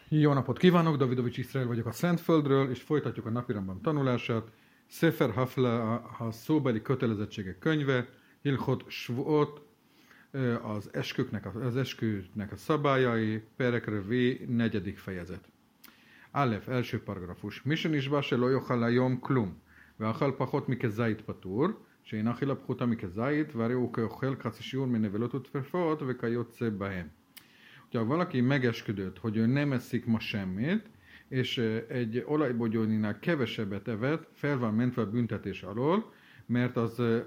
Jó napot kívánok, Davidovics Iszrael vagyok a Szentföldről, és folytatjuk a napirendben tanulását. Sefer Hafla, a szóbeli kötelezettségek könyve, Hilchot Shvuot, az eskünek a szabályai, Perek Revi, 4. fejezet. Alef, első paragrafus. Misen is se lo yochal hayom klum, ve'achal pachot mikezait patur, שאין אכילה פחותה מכזית, והרי הוא כאוכל חצי שיעור מנבלות ותפרפות וכיוצא בהם. Ha valaki megesküdött, hogy ő nem eszik ma semmit, és egy olajbogyóninál kevesebbet evett, fel van mentve a büntetés alól, mert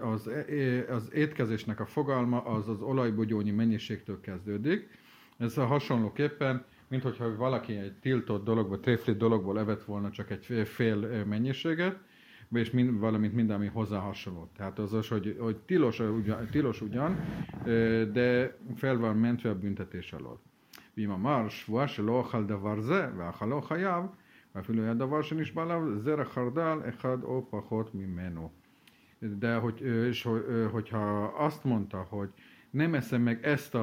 az étkezésnek a fogalma az olajbogyónyi mennyiségtől kezdődik. Ez hasonlóképpen, mint hogyha valaki egy tiltott dologból, tréflit dologból evett volna csak egy fél mennyiséget, és valamint minden, ami hozzá hasonló. Tehát az, hogy tilos ugyan, de fel van mentve a büntetés alól. ואם אמר שבועה שלא אכל דבר זה ואכלו חייב, ואפילו היה דבר שנשבע עליו זרע חרדל אחד או פחות ממנו. De hogyha azt mondta, hogy nem eszem meg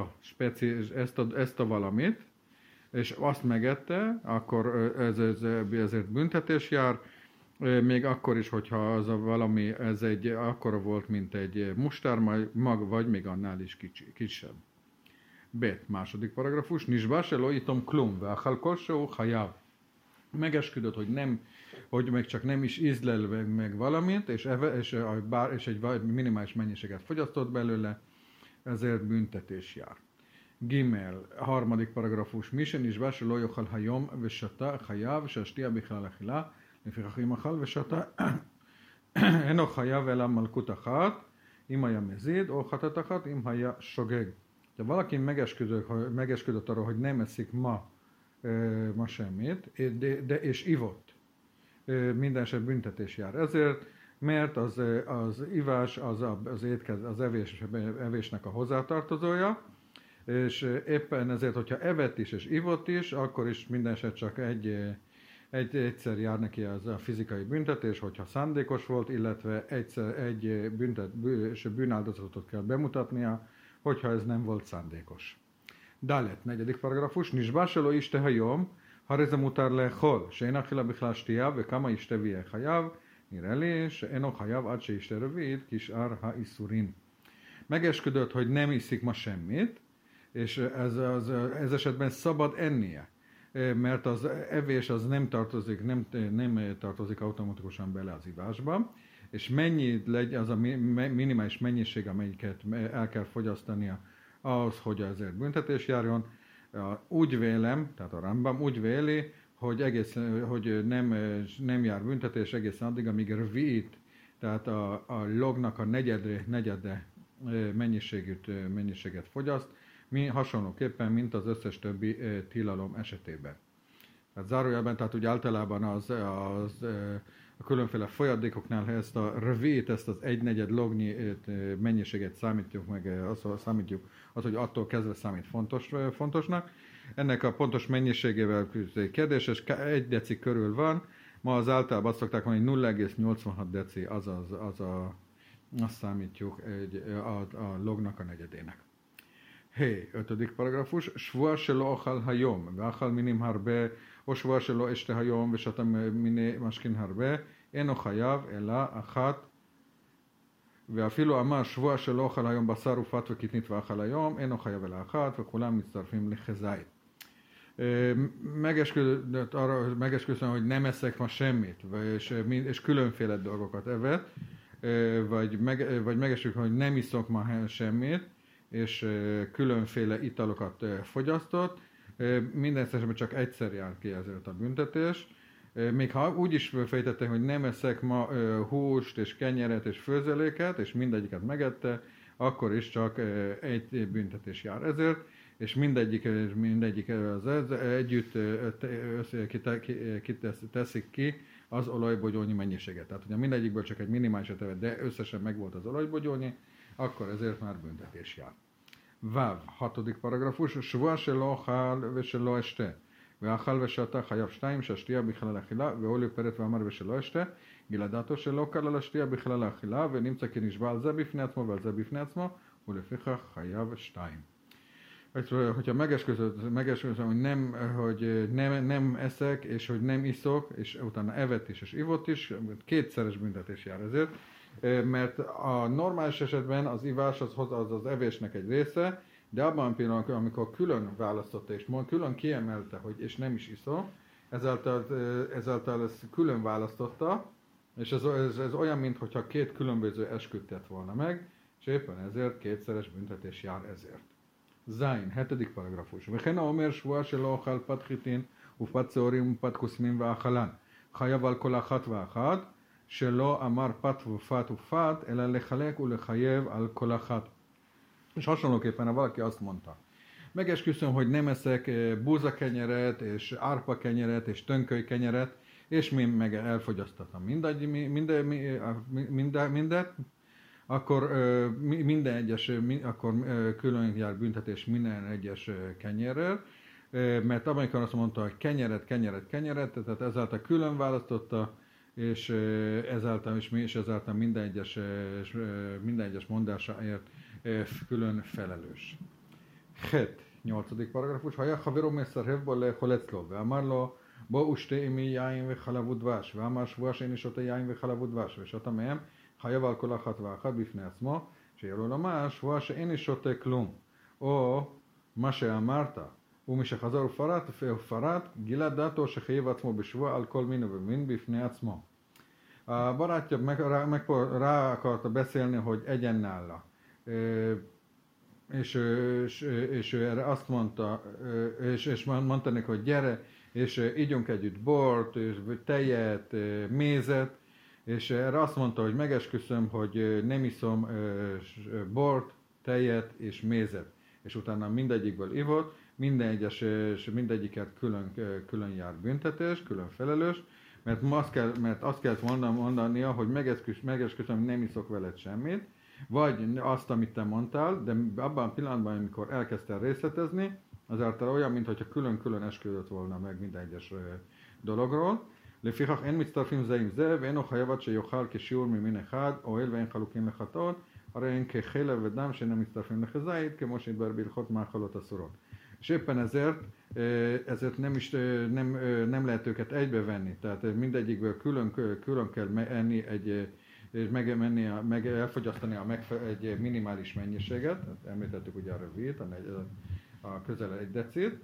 ezt a valamit, és azt megette, akkor ezért büntetés jár, még akkor is, hogyha az a valami, ez egy akkora volt, mint egy mustármag, vagy még annál is kisebb. Bet, második paragrafus. Nisba se lo itom klum, ve'achal kol shehu chayav. Megesküdött, hogy meg csak nem is ízlel meg valamit, és egy minimális mennyiséget fogyasztott belőle, ezért büntetés jár. Gimel, harmadik paragrafus. Misen nisba se lo yochal hayom ve'shata chayav, she'ashtia bichlal achila, lefichach im achal ve'shata eno chayav ela malkut achat, im haya mezid, o chatat achat, im haya shogeg. Ha valaki megesküdött arra, hogy nem eszik ma semmit, és ivott, minden eset büntetés jár ezért, mert az ivás az evésnek a hozzátartozója, és éppen ezért, hogyha evett is és ivott is, akkor is minden eset csak egyszer jár neki az a fizikai büntetés, hogyha szándékos volt, illetve egy bűnáldozatot kell bemutatnia, hogyha ez nem volt szándékos. Dalet, 4. paragrafus. Nisba se lo yishte hayom, הרי זה מותר לאכול, שאין אכילה בכלל שתייה, וכמה ישתה ויהיה חייב, נראה לי שאינו חייב עד שישתה רביעית, כשאר האיסורים. Megesküdött, hogy nem iszik ma semmit, és ez esetben szabad ennie, mert az evés az nem tartozik automatikusan bele az ivásba, és mennyi legyen az a minimális mennyiség, amelyiket el kell fogyasztania ahhoz, hogy ezért büntetés járjon. Úgy vélem, tehát a Rambam úgy véli, hogy nem jár büntetés egészen addig, amíg rviit, tehát a lognak a negyede mennyiséget fogyaszt, hasonlóképpen, mint az összes többi tilalom esetében. Tehát zárójelben, tehát úgy általában a különféle folyadékoknál ezt a revét, ezt az 1/4 lognyi mennyiséget számítjuk meg, hogy attól kezdve számít fontosnak. Ennek a pontos mennyiségével kérdéses, 1 deci körül van, ma az általában azt szokták mondani, 0,86 deci, azt számítjuk a lognak a negyedének. 5. paragrafus. שבועה שלא אכל היום, ואכל מינים הרבה, או שבועה שלא אשתה היום ושתה מיני משכין הרבה, אינו חייב אלא אחת. ואפילו אמר שבועה שלא אכל היום בשר ופת וקטנית ואכל היום, אינו חייב אלא אחת, וכולם מצטרפים לחזאית. Megesküdött, hogy nem eszek ma semmit, és különféle dolgokat evett, vagy megesküdött, hogy nem iszok ma semmit, és különféle italokat fogyasztott, minden esetben csak egyszer jár ki ezért a büntetés. Még ha úgy is fejtette, hogy nem eszek ma húst és kenyeret és főzeléket, és mindegyiket megette, akkor is csak egy büntetés jár ezért, és mindegyik az együtt teszik ki az olajbogyónyi mennyiséget. Tehát, hogyha mindegyikből csak egy minimálisat evett, de összesen megvolt az olajbogyónyi, akkor ezért már büntetés jár. Vav, 6. paragrafus. שבועה שלא אכל ושלא אשתה, ואכל ושתה חייב 2, שהשתייה בכלל האכילה, והוא פרט ואמר ושלא אשתה, גלדתו שלא קל על השתייה בכלל האכילה, ונמצא כי נשבע על זה בפני עצמו ועל זה בפני עצמו, ולפיכך חייב 2. hogyha megesküszöm, hogy nem eszek, és hogy nem iszok, és utána evett is, és ivott is, kétszeres büntetés jár ezért, mert a normális esetben az ivás az evésnek egy része, de abban a pillanatban, amikor külön választotta, és külön kiemelte, hogy és nem is iszom, ezáltal ezt külön választotta, és ez olyan, mintha két különböző esküt tett volna meg, és éppen ezért kétszeres büntetés jár ezért. Zain, 7. paragrafus. וכן האומר שבועה שלא אוכל פת חיטין ופת שעורים ופת כוסמים ואכלן. חייב על כל אחת ואחת שלא אמר פת ופת ופת, אלא לחלק ולחייב על כל אחת. És hasonlóképpen, ha valaki azt mondta, megesküszöm, hogy nem eszek búzakenyeret, és árpakenyeret, és tönkölykenyeret, és mi meg elfogyasztatom mindet, akkor akkor külön jár büntetés minden egyes kenyerrel, mert amikor azt mondta, hogy kenyeret, tehát ezáltal külön választotta, és ezáltal minden egyes mondásáért külön felelős. 8. paragrafus. היה חברו מסרב בו לאכול אצלו, ואמר לו בוא ושתה עמי יין וחלב ודבש, ואמר שבועה שאיני שותה יין וחלב ודבש, ושתה מהם חייב על כל אחת ואחת בפני עצמו, שיהיה לו לומר שבועה שאיני שותה כלום, או מה שאמרת, ומשחזר ופרט, גילה דעתו שחייב עצמו בשבועה על כל מין ומין בפני עצמו. A barátja rá akarta beszélni, hogy egyen nála. És ő erre azt mondta, és mondta neki, hogy gyere, és ígyunk együtt bort, és tejet, mézet, és erre azt mondta, hogy megesküszöm, hogy nem iszom bort, tejet és mézet. És utána mindegyikből ivott, mindegyiket külön jár büntetés, külön felelős, mert azt kellett mondania, hogy megesküszöm, nem iszok veled semmit, vagy azt, amit te mondtál, de abban a pillanatban, amikor elkezdtél részletezni, azáltal olyan, mintha külön-külön esküdött volna meg minden egyes dologról. לפיכך אין מצטרפים זה עם זה, ואינו חייבת שיאכל כשיעור ממין אחד, אוהל ואין חלוקים לחטאות, הרי אין כחלב ודם שאינם מצטרפים לכזית, כמו שהתברר בהלכות מאכלות אסורות. És éppen ezért nem lehet őket egybevenni, tehát mindegyikből külön kell enni meg elfogyasztani egy minimális mennyiséget, említettük ugye a rövét, a közel 1 decit,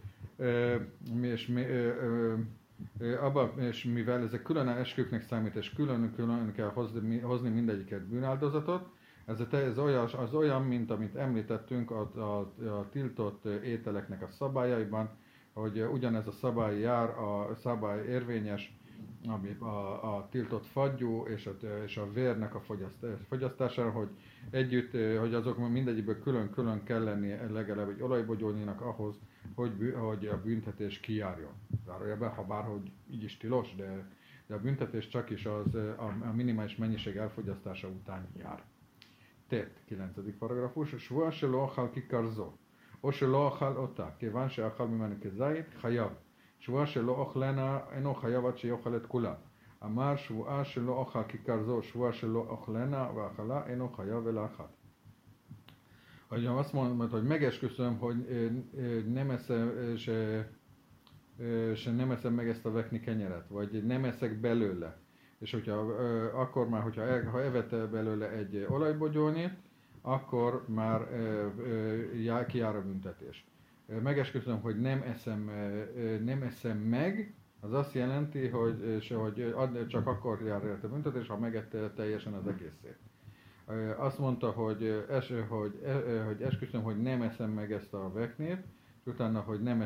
és mivel ezek külön esküknek számít, és külön kell hozni mindegyiket bűnáldozatot, ez olyan, mint amit említettünk a tiltott ételeknek a szabályaiban, hogy ugyanez a szabály jár, a szabály érvényes, ami a tiltott fagyú és a vérnek a fogyasztására, hogy azok mindegyikből külön kell lenni legalább egy olajbogyóninak ahhoz, hogy a büntetés kijárjon. Zárójelben, ha bárhogy így is tilos, de a büntetés csak is a minimális mennyiség elfogyasztása után jár. 9. paragrafus. שבועה שלא אכל כיכר זו, או שלא אכל אותה, כיוון שאכל ממנה כזית, חייב. שבועה שלא אוכלנה, אינו חייב עד שיאכל את כולה. אמר שבועה שלא אוכל כיכר זו, שבועה שלא אוכלנה ואכלה, אינו חייב אלא אחת. Hogy azt mondom, hogy megesküszöm, hogy nem eszem meg ezt a vekni kenyeret, vagy nem eszek belőle. És ha evette belőle egy olajbogyónit, akkor már kijár a büntetés. Megesküszöm, hogy nem eszem meg, az azt jelenti, hogy csak akkor jár a büntetés, ha megette teljesen az egészét. Azt mondta, hogy esküszöm, hogy nem eszem meg ezt a veknét, és utána, hogy nem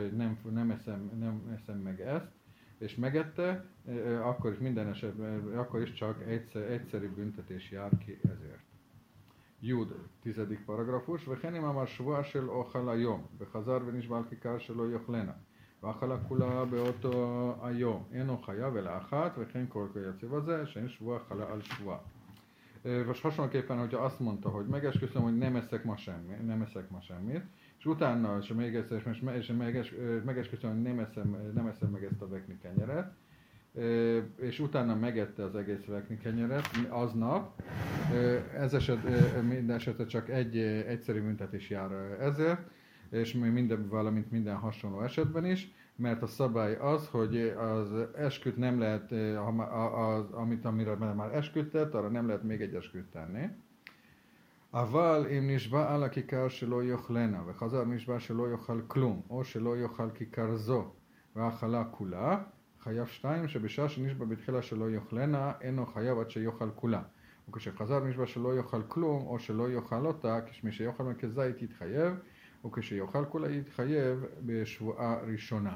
eszem meg ezt, és megette, akkor is minden esetben, akkor is csak egyszerű büntetés jár ki ezért. Jud, 10. paragrafus, וכן אם אמר שבועה של אוכל היום, וחזר ונשבע על כיכר שלא יאכלנה, ואכלה כולה באותו היום, אינו חייב אלא אחת, וכן כל כיוצא בזה, שאין שבועה חלה על שבועה. Most hasonlóképpen, hogyha azt mondta, hogy megesküszöm, hogy nem eszek ma semmit, és utána, és megesküszöm, hogy nem eszem meg ezt a vekni kenyeret, és utána megette az egész vekni kenyeret aznap, minden esetre csak egy egyszerű büntetés jár ezért, és valamint minden hasonló esetben is, mert a szabály az, hogy az esküt nem lehet, amire már esküdtett, arra nem lehet még egy esküt tenni. אבל אם נשבע על הכיכר שלא יאכלנה, וחזר נשבע שלא יאכל כלום, או שלא יאכל כיכר זו, ואכלה כולה, חייב שתיים, שבשעה שנשבע בתחילה שלא יאכלנה, אינו חייב עד שיאכל כולה. וכשחזר נשבע שלא יאכל כלום, או שלא יאכל אותה, כשמי שיאכל מכזית יתחייב, וכשיאכל כולה יתחייב בשבועה ראשונה.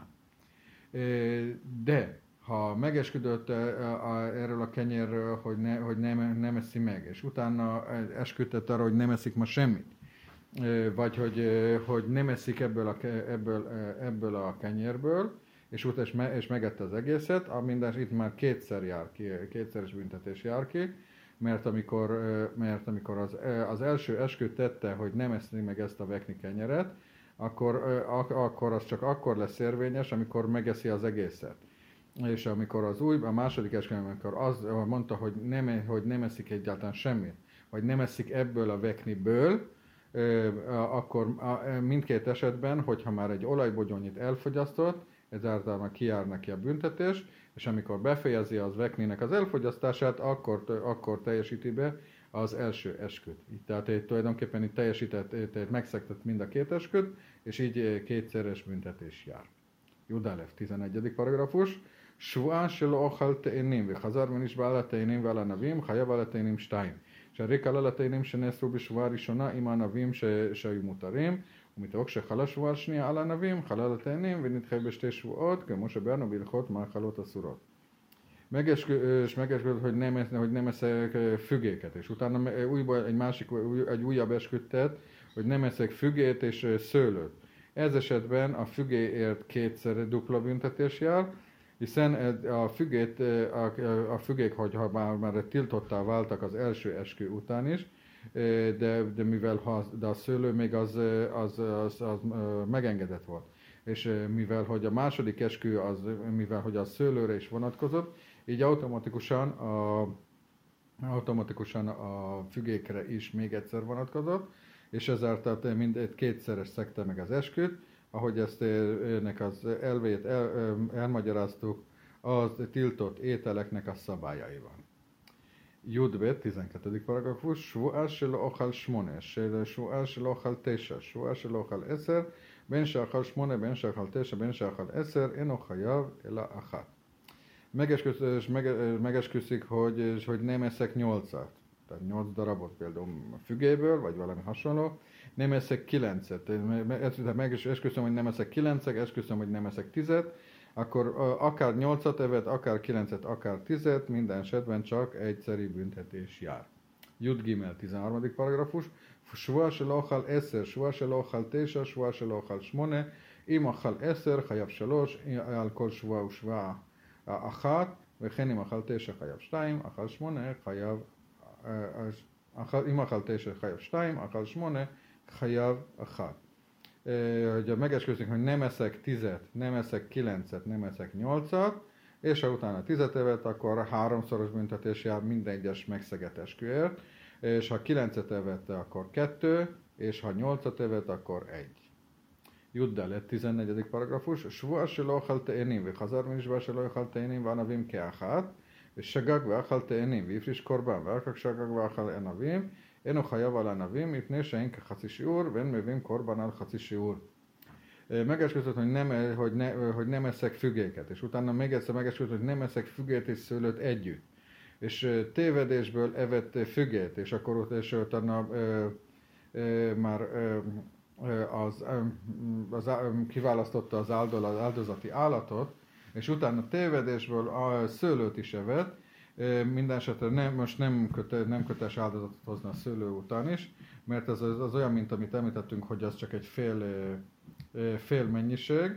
De ha megesküdött erről a kenyérről, hogy nem eszi meg, és utána esküdtett arra, hogy nem eszik ma semmit, vagy hogy nem eszik ebből a kenyérből, és megette az egészet, mindez itt már kétszeres büntetés jár ki, mert amikor az első esküt tette, hogy nem eszi meg ezt a vekni kenyeret, akkor az csak akkor lesz érvényes, amikor megeszi az egészet. És amikor a második esküvőn, amikor az mondta, hogy nem eszik egyáltalán semmit, vagy nem eszik ebből a vekniből, akkor mindkét esetben, hogyha már egy olajbogyónyit elfogyasztott, ezáltal már kijár neki a büntetés, és amikor befejezi az vekninek az elfogyasztását, akkor teljesíti be az első esküt. Tehát tulajdonképpen itt megszegtett mind a két esküt, és így kétszeres büntetés jár. Judalev, 11. paragrafus. שבועה שלא אוכל תאנים וחזר ונשבע על התאנים ועל הענבים, חייב על התאנים 2. שהריק על התאנים שנאסרו בשבועה הראשונה עם הענבים שהיו מותרים, ומתוך שחלה שבועה שנייה על הענבים, חלה על התאנים ונדחה בשתי שבועות, כמו שבאנו בהלכות מאכלות אסורות. Megesküdött, hogy nem eszek fügéket, és utána egy újabb esküt tett, hogy nem eszek fügét és szőlőt. Ez esetben a fügéért kétszer dupla büntetés jár, hiszen a fügék, hogyha már tiltottá váltak az első eskü után is, de mivel a szőlő még az megengedett volt. És mivel hogy a második eskü mivel hogy a szőlőre is vonatkozott, így automatikusan a fügékre is még egyszer vonatkozott, és ezáltal mindegy kétszeres szegte meg az esküt, ahogy ezt ennek az elvét elmagyaráztuk, az tiltott ételeknek a szabályaiban. Judbet, 12. paragrafus, שבועה שלא אוכל 8, שבועה שלא אוכל 9, שבועה שלא אוכל 10, בין שאכל 8, בין שאכל 9, בין שאכל 10, אינו חייב אלא אחת. Megesküszik, hogy nem eszek 8-at, tehát 8 darabot például a fügéből, vagy valami hasonló, nem eszek 9-et, megesküszöm, hogy nem eszek 9-et, esküszöm, hogy nem eszek 10-et, akkor akár 8-at evett, akár 9-et, akár 10-et, minden esetben csak egyszeri büntetés jár. Jud Gimel, 13. paragrafus, שבועה שלא אוכל 10, שבועה שלא אוכל 9, שבועה שלא אוכל 8, אם אכל 10 חייב 3, על כל שבועה ושבועה 1, וכן אם אכל 9 חייב 2, אכל 8 חייב, אם אכל 9 חייב 2, אכל 8 חייב 1. Hogy megesküszünk, hogy nem eszek 10-et, nem eszek 9-et, nem eszek 8-at, és ha utána 10-et evett, akkor 3-szoros büntetés jár minden egyes megszegett esküért, és ha 9-et evette, akkor 2, és ha 8-at evett, akkor 1. Juddalet, 14. paragrafus, שבועה שלא אכל תאנים וחזר ונשבע שלא יאכל תאנים וענבים כאחת, ושגג ואכל תאנים והפריש קורבן ואחר כך שגג ואכל ענבים, אינו חייב על ענבים מפני שאין כחצי שיעור ואין מביאים קורבן על חצי שיעור. Megesküdött, hogy nem eszek fügéket, és utána még egyszer megesküdött, hogy nem eszek fügét és szőlőt együtt. És tévedésből evett fügét, és akkor utána már kiválasztotta az áldozati állatot, és utána tévedésből a szőlőt is evett, minden esetre most nem köteles áldozatot hozni a szőlő után is, mert ez az olyan, mint amit említettünk, hogy az csak egy fél mennyiség,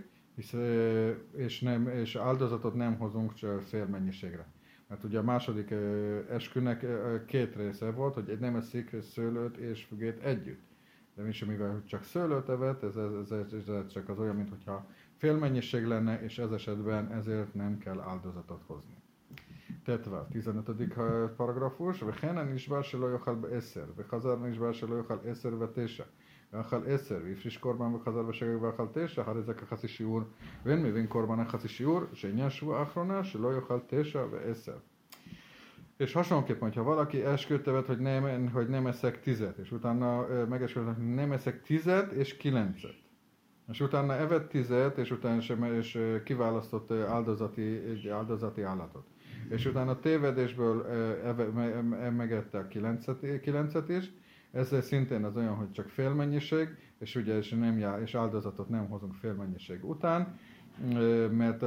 és áldozatot nem hozunk csak fél mennyiségre. Mert ugye a második eskünek két része volt, hogy nem eszik szőlőt és fügét együtt. De mivel csak szőlőt evett, ez csak az olyan, mintha fél mennyiség lenne, és ez esetben ezért nem kell áldozatot hozni. Tetva, 15. paragrafus, וכן הנשבע שלא יאכל ב10, וחזר נשבע שלא יאכל 10 ו9, ואכל 10, והפריש קורבן וחזר בשגג ואכל 9, אחרי זה כחצי שיעור, ואין מבין קורבן חצי שיעור, שעניין שבוע האחרונה שלא יאכל 9 ו10. És hasonlóképpen, hogyha valaki esküt tevet, hogy nem eszek 10-et, és utána megesküdt, hogy nem eszek 10-et és 9-et. És utána evett 10-et, és utána és kiválasztott áldozati állatot. És utána tévedésből megette a 9-et is, ez szintén az olyan, hogy csak félmennyiség, és ugye és áldozatot nem hozunk félmennyiség után, mert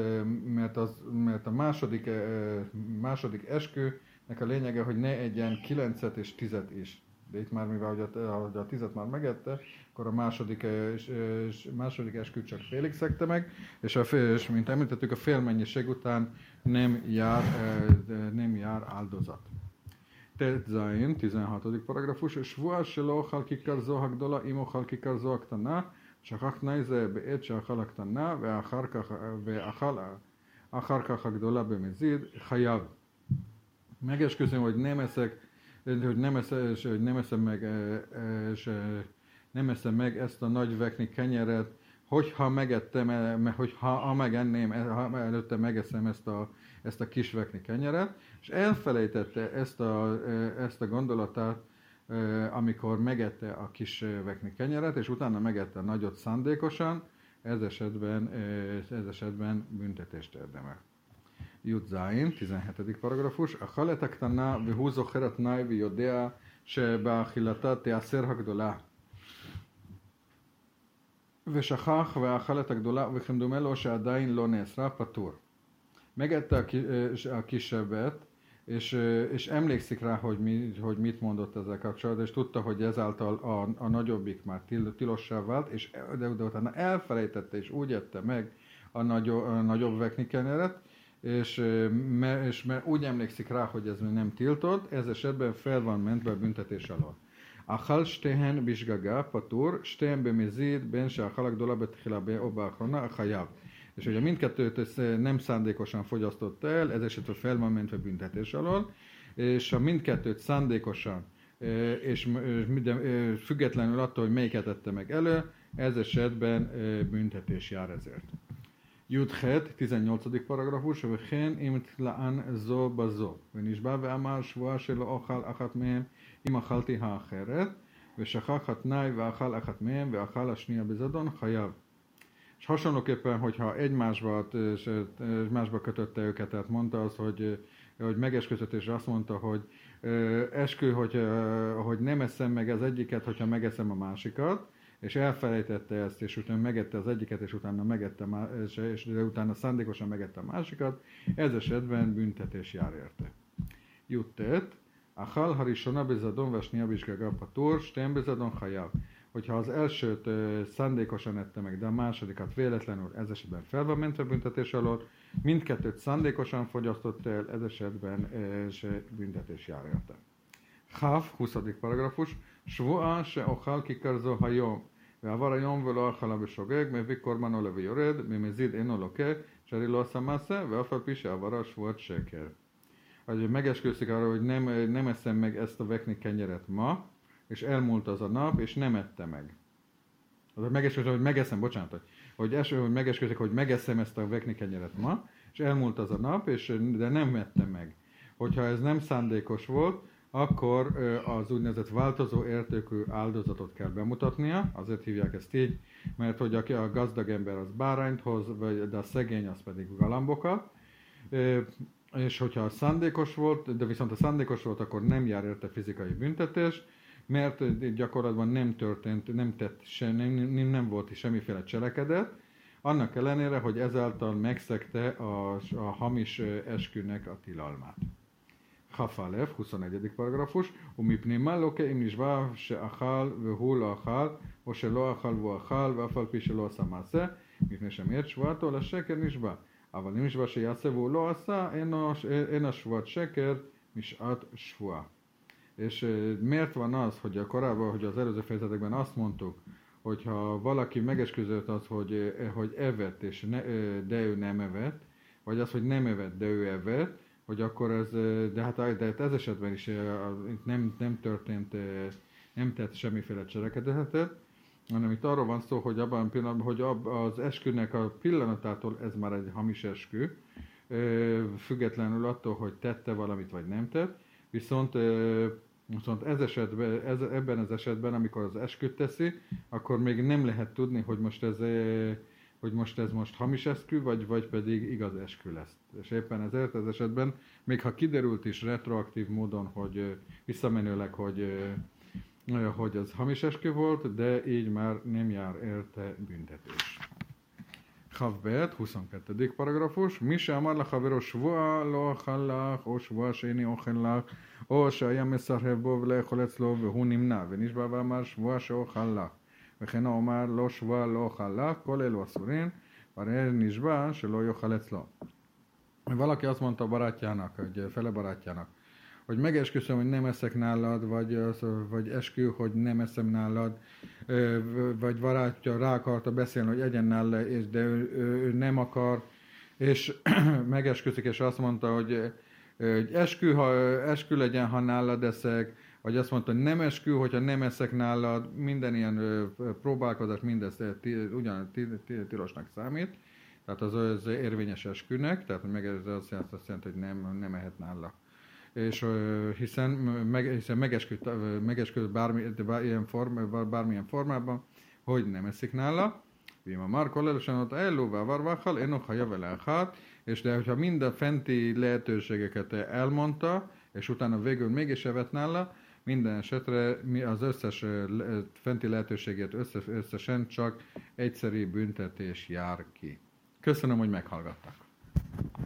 a második eskünek a lényege, hogy ne egyen 9-et és 10-et is. De itt már, mivel hogy a 10-et már megette, akkor a második esküt csak félig szegte meg, és mint említettük, a félmennyiség után nem jár áldozat. Zain, 16. paragrafus, Shvua shelo ochal kikar zo hagdola im ochal kikar zo aktana, שכח תנאי זה בעת שאכל הקטנה ואחר כך הגדולה במזיד, חייב. Megesküszöm, hogy nem eszem meg ezt a nagy vekni kenyeret, hogyha megenném, előtte megeszem ezt a kis vekni kenyeret, és elfelejtette ezt a gondolatát, amikor megette a kis vekni kenyeret, és utána megette a nagyot szándékosan, ez esetben büntetést érdemel. Jud Zain, 17. paragrafus. A haletek tanná, vihu zocheret náj, vi jodea, se beachilata teaser hagdola. ושכח ואכל את הגדולה וכמדומה לו שעדיין לא נאסרה פטור. Megette a kisebbet, és emlékszik rá, hogy mit mondott ezzel kapcsolatban, és tudta, hogy ezáltal a nagyobbik már tilossá vált, de utána elfelejtette, és úgy ette meg a nagyobb vekni kenyeret, és mert úgy emlékszik rá, hogy ez nem tiltott, ez esetben fel van mentve a büntetés alól. אכל שתיהן בשגגה פטור, שתיהן במזיד בין שאכל הגדולה בתחילה או באחרונה חייב. És hogyha mindkettőt nem szándékosan fogyasztotta el, ez esetben fel van mentve büntetés alól, és ha mindkettőt szándékosan, és függetlenül attól, hogy melyiket tette meg elő, ez esetben büntetés jár ezért. Judhet, 18. paragrafus, וכן אם תלאן זו בזו, ונשבע ואמר שבועה שלא אוכל אחת מהם, אם אכלתי האחרת, ושכח התנאי ואכל אחת מהם, ואכל השנייה בזדון, חייב. És hasonlóképpen, hogyha egymásba kötötte őket, tehát mondta azt, hogy megesküdött, és azt mondta, hogy eskü, hogy nem eszem meg az egyiket, hogyha megeszem a másikat, és elfelejtette ezt, és utána megette az egyiket, és utána szándékosan megette a másikat, ez esetben büntetés jár érte. Juttet, Achal harishona bezadon vasnia bizsgaga patur, stem bezadon hajav. Hogyha az elsőt szándékosan ette meg, de a másodikat véletlenül, ez esetben fel van mentve büntetés alól, mindkettőt szándékosan fogyasztott el, ez esetben büntetés jár érte. Chav, 20. paragrafus, שבועה שאוכל כיכר זו היום, ועבר היום ולא אכלה בשוגג, מביא קורבנו ויורד, ממזיד אינו לוקה, שהרי לא עשה מעשה, ואף על פי שעברה שבועת שקר. Hogy megesküszik arra, hogy nem eszem meg ezt a vekni kenyeret ma, és elmúlt az a nap, és nem ette meg. Az megesküszik, hogy megeszem, bocsánat, hogy megesküszik, hogy megeszem ezt a vekni kenyeret ma, és elmúlt az a nap, de nem ette meg. Hogyha ez nem szándékos volt, akkor az úgynevezett változó értékű áldozatot kell bemutatnia, azért hívják ezt így, mert hogy a gazdag ember az bárányt hoz, de a szegény az pedig galambokat, és hogyha szándékos volt, de viszont a szándékos volt, akkor nem jár érte fizikai büntetés, mert gyakorlatban nem volt semmiféle cselekedet, annak ellenére, hogy ezáltal megszegte a hamis eskünek a tilalmát. Chafalev, 21. paragrafus, ומפני מה לוקה אם נשבע שאכל והוא לא אכל, או שלא אכל והוא אכל, ואף על פי שלא עשה מעשה, מפני שמעת שבועתו לשקר נשבע. אבל אם נשבע שיעשה והוא לא עשה, אין השבועת שקר משעת שבועה. És miért van az, hogy korábban, hogy az előző fejezetekben azt mondtuk, hogyha valaki megesküdött az, hogy evett, de ő nem evett, vagy az, hogy nem evett, de ő evett, hogy akkor ez, de ez esetben is nem nem tett semmiféle cselekedetet, hanem itt arról van szó, hogy abban a pillanatban, hogy az eskünek a pillanatától ez már egy hamis eskü, függetlenül attól, hogy tette valamit vagy nem tett, viszont ebben az esetben, amikor az esküt teszi, akkor még nem lehet tudni, hogy most ez hamis eskü, vagy pedig igaz eskü lesz. És éppen ezért az esetben, még ha kiderült is retroaktív módon, hogy visszamenőleg, hogy az hamis eskü volt, de így már nem jár érte büntetés. Chavbet, 22. paragrafus. Mi se amar lechavero shvua lo achal lach, o shvua sheini ochel lach, o שהיה מסרב בו ולאכול אצלו והוא נמנע ונשבע ואמר שבוע שאוכל לך וכן אומר לא שבוע לא אוכל לך, כל אלו אסורים, והרי נשבע שלא יאכל אצלו. Valaki azt mondta a barátjának, hogy fele barátjának, hogy megesküszöm, hogy nem eszek nálad, vagy eskü, hogy nem eszem nálad, vagy barátja rá akarta beszélni, hogy egyen nála, de ő nem akar, és megesküszik, és azt mondta, hogy eskü legyen, ha nálad eszek, vagy azt mondta, hogy nem eskü, hogyha nem eszek nálad, minden ilyen próbálkozás, mindez ugyan tilosnak számít, tehát az érvényes eskünek, tehát ez azt jelenti, hogy nem ehet nála. És hiszen megesküdt bármilyen formában, hogy nem eszik nála, Vima Marko lelősen ellóvá varváhal, enok ha javelelhát, és de hogyha mind a fenti lehetőségeket elmondta, és utána végül mégis evett nála, minden esetre az összes fenti lehetőségét összesen csak egyszeri büntetés jár ki. Köszönöm, hogy meghallgattak.